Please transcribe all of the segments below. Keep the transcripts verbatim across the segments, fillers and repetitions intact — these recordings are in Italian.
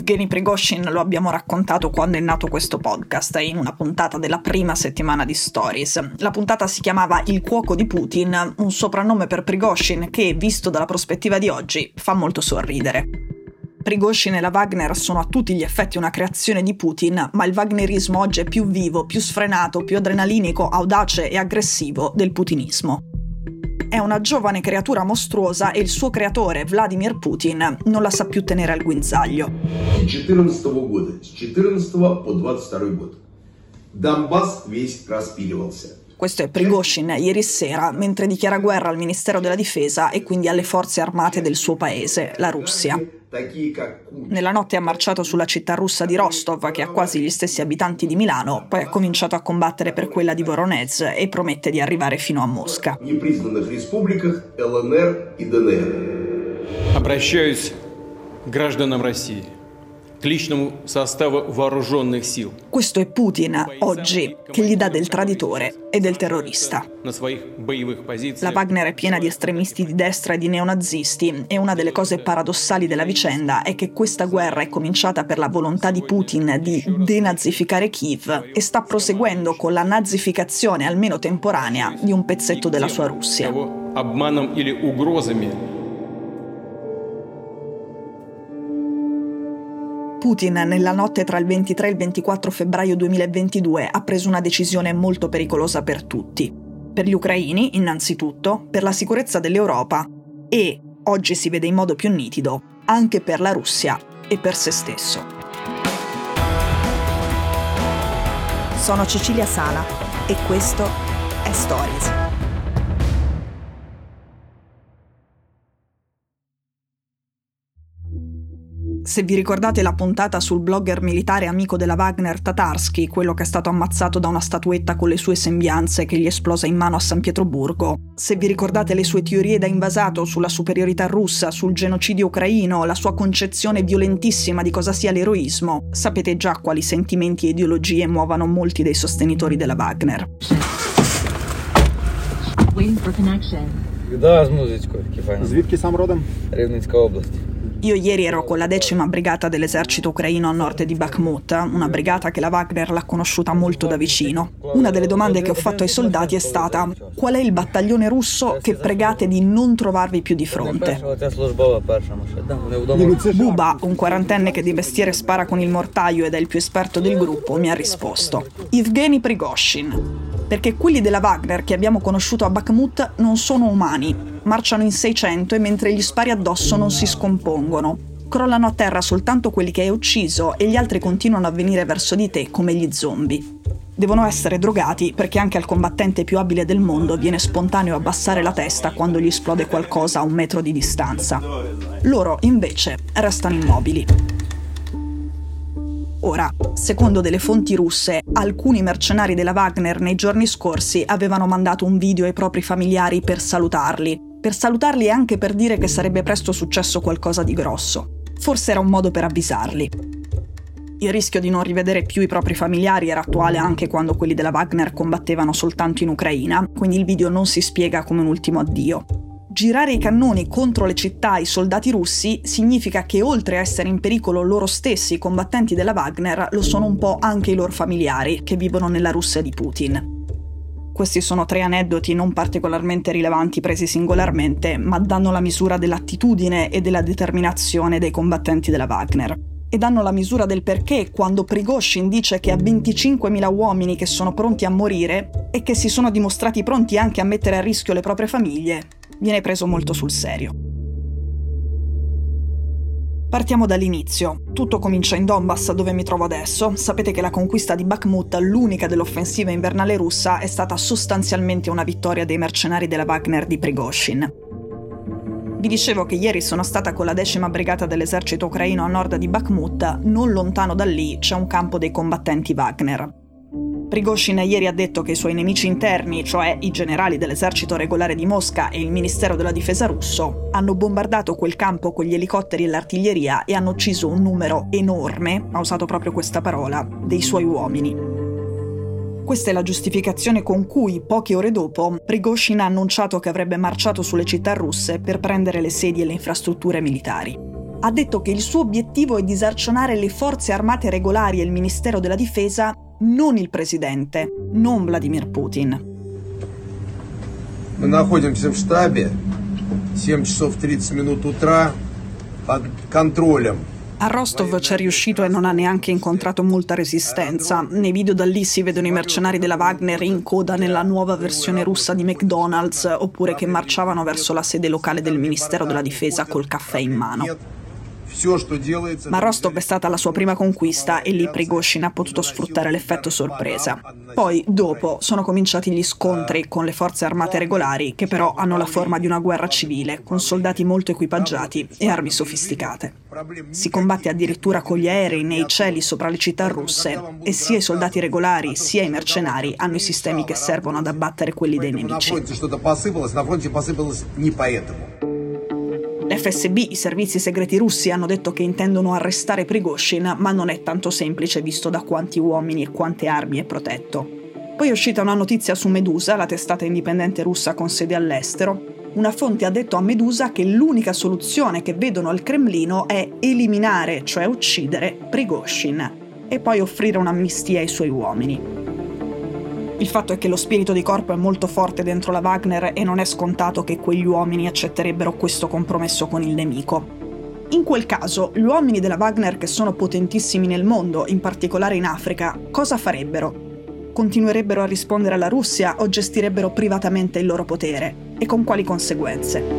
Yevgeny Prigozhin lo abbiamo raccontato quando è nato questo podcast, in una puntata della prima settimana di Stories. La puntata si chiamava Il cuoco di Putin, un soprannome per Prigozhin che, visto dalla prospettiva di oggi, fa molto sorridere. Prigozhin e la Wagner sono a tutti gli effetti una creazione di Putin, ma il wagnerismo oggi è più vivo, più sfrenato, più adrenalinico, audace e aggressivo del putinismo. È una giovane creatura mostruosa e il suo creatore, Vladimir Putin, non la sa più tenere al guinzaglio. четырнадцатого года, с четырнадцатого по двадцать второй год. Донбасс весь распиливался. Questo è Prigozhin ieri sera, mentre dichiara guerra al Ministero della Difesa e quindi alle forze armate del suo paese, la Russia. Nella notte ha marciato sulla città russa di Rostov, che ha quasi gli stessi abitanti di Milano, poi ha cominciato a combattere per quella di Voronezh e promette di arrivare fino a Mosca. Обращаюсь к гражданам России, к личному составу вооруженных сил. Questo è Putin oggi, che gli dà del traditore e del terrorista. La Wagner è piena di estremisti di destra e di neonazisti e una delle cose paradossali della vicenda è che questa guerra è cominciata per la volontà di Putin di denazificare Kiev e sta proseguendo con la nazificazione, almeno temporanea, di un pezzetto della sua Russia. Putin, nella notte tra il ventitré e il ventiquattro febbraio duemilaventidue, ha preso una decisione molto pericolosa per tutti. Per gli ucraini, innanzitutto, per la sicurezza dell'Europa e, oggi si vede in modo più nitido, anche per la Russia e per se stesso. Sono Cecilia Sala e questo è Stories. Se vi ricordate la puntata sul blogger militare amico della Wagner Tatarsky, quello che è stato ammazzato da una statuetta con le sue sembianze che gli esplosa in mano a San Pietroburgo, se vi ricordate le sue teorie da invasato sulla superiorità russa, sul genocidio ucraino, la sua concezione violentissima di cosa sia l'eroismo, sapete già quali sentimenti e ideologie muovano molti dei sostenitori della Wagner. Звідки сам родом? Рівненська область. Io ieri ero con la decima brigata dell'esercito ucraino a nord di Bakhmut, una brigata che la Wagner l'ha conosciuta molto da vicino. Una delle domande che ho fatto ai soldati è stata: qual è il battaglione russo che pregate di non trovarvi più di fronte? Buba, un quarantenne che di mestiere spara con il mortaio ed è il più esperto del gruppo, mi ha risposto: Yevgeny Prigozhin. Perché quelli della Wagner che abbiamo conosciuto a Bakhmut non sono umani, marciano in seicento e mentre gli spari addosso non si scompongono. Crollano a terra soltanto quelli che hai ucciso e gli altri continuano a venire verso di te come gli zombie. Devono essere drogati perché anche al combattente più abile del mondo viene spontaneo abbassare la testa quando gli esplode qualcosa a un metro di distanza. Loro, invece, restano immobili. Ora, secondo delle fonti russe, alcuni mercenari della Wagner nei giorni scorsi avevano mandato un video ai propri familiari per salutarli, per salutarli e anche per dire che sarebbe presto successo qualcosa di grosso. Forse era un modo per avvisarli. Il rischio di non rivedere più i propri familiari era attuale anche quando quelli della Wagner combattevano soltanto in Ucraina, quindi il video non si spiega come un ultimo addio. Girare i cannoni contro le città ai soldati russi significa che oltre a essere in pericolo loro stessi, i combattenti della Wagner, lo sono un po' anche i loro familiari che vivono nella Russia di Putin. Questi sono tre aneddoti non particolarmente rilevanti presi singolarmente, ma danno la misura dell'attitudine e della determinazione dei combattenti della Wagner. E danno la misura del perché quando Prigozhin dice che ha venticinquemila uomini che sono pronti a morire e che si sono dimostrati pronti anche a mettere a rischio le proprie famiglie, viene preso molto sul serio. Partiamo dall'inizio. Tutto comincia in Donbass, dove mi trovo adesso. Sapete che la conquista di Bakhmut, l'unica dell'offensiva invernale russa, è stata sostanzialmente una vittoria dei mercenari della Wagner di Prigozhin. Vi dicevo che ieri sono stata con la decima brigata dell'esercito ucraino a nord di Bakhmut. Non lontano da lì c'è un campo dei combattenti Wagner. Prigozhin ieri ha detto che i suoi nemici interni, cioè i generali dell'esercito regolare di Mosca e il Ministero della Difesa russo, hanno bombardato quel campo con gli elicotteri e l'artiglieria e hanno ucciso un numero enorme, ha usato proprio questa parola, dei suoi uomini. Questa è la giustificazione con cui, poche ore dopo, Prigozhin ha annunciato che avrebbe marciato sulle città russe per prendere le sedi e le infrastrutture militari. ha detto che il suo obiettivo è disarcionare le forze armate regolari e il Ministero della Difesa, non il presidente, non Vladimir Putin. Мы находимся в штабе, семь часов тридцать минут утра, под контролем. A Rostov c'è riuscito e non ha neanche incontrato molta resistenza. Nei video da lì si vedono i mercenari della Wagner in coda nella nuova versione russa di McDonald's, oppure che marciavano verso la sede locale del Ministero della Difesa col caffè in mano. Ma Rostov è stata la sua prima conquista e lì Prigozhin ha potuto sfruttare l'effetto sorpresa. Poi, dopo, sono cominciati gli scontri con le forze armate regolari, che però hanno la forma di una guerra civile, con soldati molto equipaggiati e armi sofisticate. Si combatte addirittura con gli aerei nei cieli sopra le città russe e sia i soldati regolari sia i mercenari hanno i sistemi che servono ad abbattere quelli dei nemici. L'F S B, i servizi segreti russi, hanno detto che intendono arrestare Prigozhin, ma non è tanto semplice visto da quanti uomini e quante armi è protetto. Poi è uscita una notizia su Medusa, la testata indipendente russa con sede all'estero. Una fonte ha detto a Medusa che l'unica soluzione che vedono al Cremlino è eliminare, cioè uccidere, Prigozhin e poi offrire un'amnistia ai suoi uomini. Il fatto è che lo spirito di corpo è molto forte dentro la Wagner e non è scontato che quegli uomini accetterebbero questo compromesso con il nemico. In quel caso, gli uomini della Wagner, che sono potentissimi nel mondo, in particolare in Africa, cosa farebbero? Continuerebbero a rispondere alla Russia o gestirebbero privatamente il loro potere? E con quali conseguenze?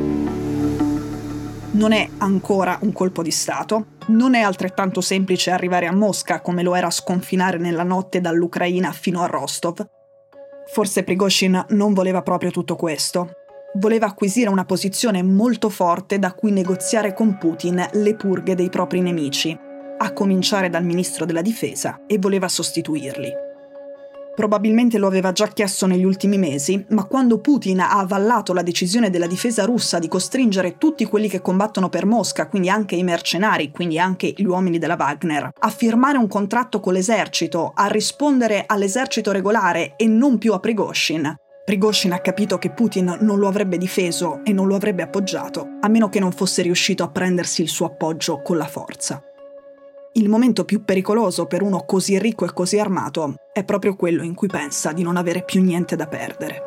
Non è ancora un colpo di Stato, non è altrettanto semplice arrivare a Mosca come lo era sconfinare nella notte dall'Ucraina fino a Rostov. Forse Prigozhin non voleva proprio tutto questo. Voleva acquisire una posizione molto forte da cui negoziare con Putin le purghe dei propri nemici, a cominciare dal ministro della difesa, e voleva sostituirli. Probabilmente lo aveva già chiesto negli ultimi mesi, ma quando Putin ha avallato la decisione della difesa russa di costringere tutti quelli che combattono per Mosca, quindi anche i mercenari, quindi anche gli uomini della Wagner, a firmare un contratto con l'esercito, a rispondere all'esercito regolare e non più a Prigozhin, Prigozhin ha capito che Putin non lo avrebbe difeso e non lo avrebbe appoggiato, a meno che non fosse riuscito a prendersi il suo appoggio con la forza. Il momento più pericoloso per uno così ricco e così armato è proprio quello in cui pensa di non avere più niente da perdere.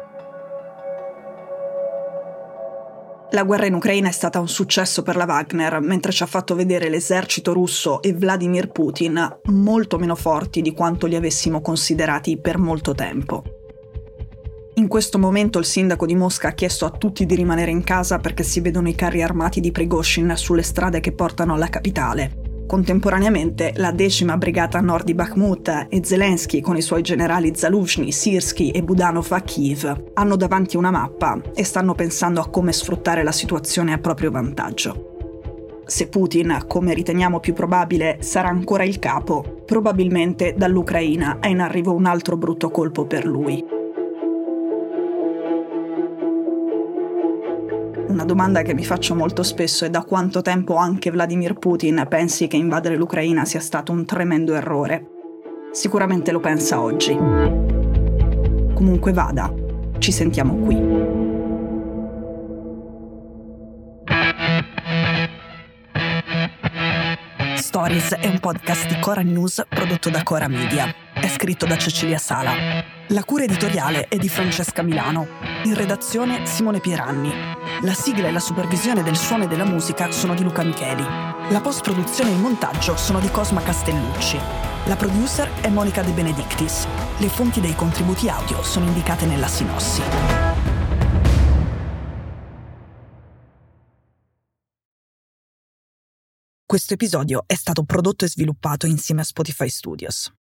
La guerra in Ucraina è stata un successo per la Wagner, mentre ci ha fatto vedere l'esercito russo e Vladimir Putin molto meno forti di quanto li avessimo considerati per molto tempo. In questo momento il sindaco di Mosca ha chiesto a tutti di rimanere in casa perché si vedono i carri armati di Prigozhin sulle strade che portano alla capitale. Contemporaneamente la decima brigata a nord di Bakhmut e Zelensky con i suoi generali Zaluzhny, Sirski e Budanov a Kiev hanno davanti una mappa e stanno pensando a come sfruttare la situazione a proprio vantaggio. Se Putin, come riteniamo più probabile, sarà ancora il capo, probabilmente dall'Ucraina è in arrivo un altro brutto colpo per lui. Una domanda che mi faccio molto spesso è da quanto tempo anche Vladimir Putin pensi che invadere l'Ucraina sia stato un tremendo errore. Sicuramente lo pensa oggi. Comunque vada, ci sentiamo qui. Stories è un podcast di Cora News prodotto da Cora Media. È scritto da Cecilia Sala. La cura editoriale è di Francesca Milano. In redazione Simone Pieranni. La sigla e la supervisione del suono e della musica sono di Luca Micheli. La post-produzione e il montaggio sono di Cosma Castellucci. La producer è Monica De Benedictis. Le fonti dei contributi audio sono indicate nella sinossi. Questo episodio è stato prodotto e sviluppato insieme a Spotify Studios.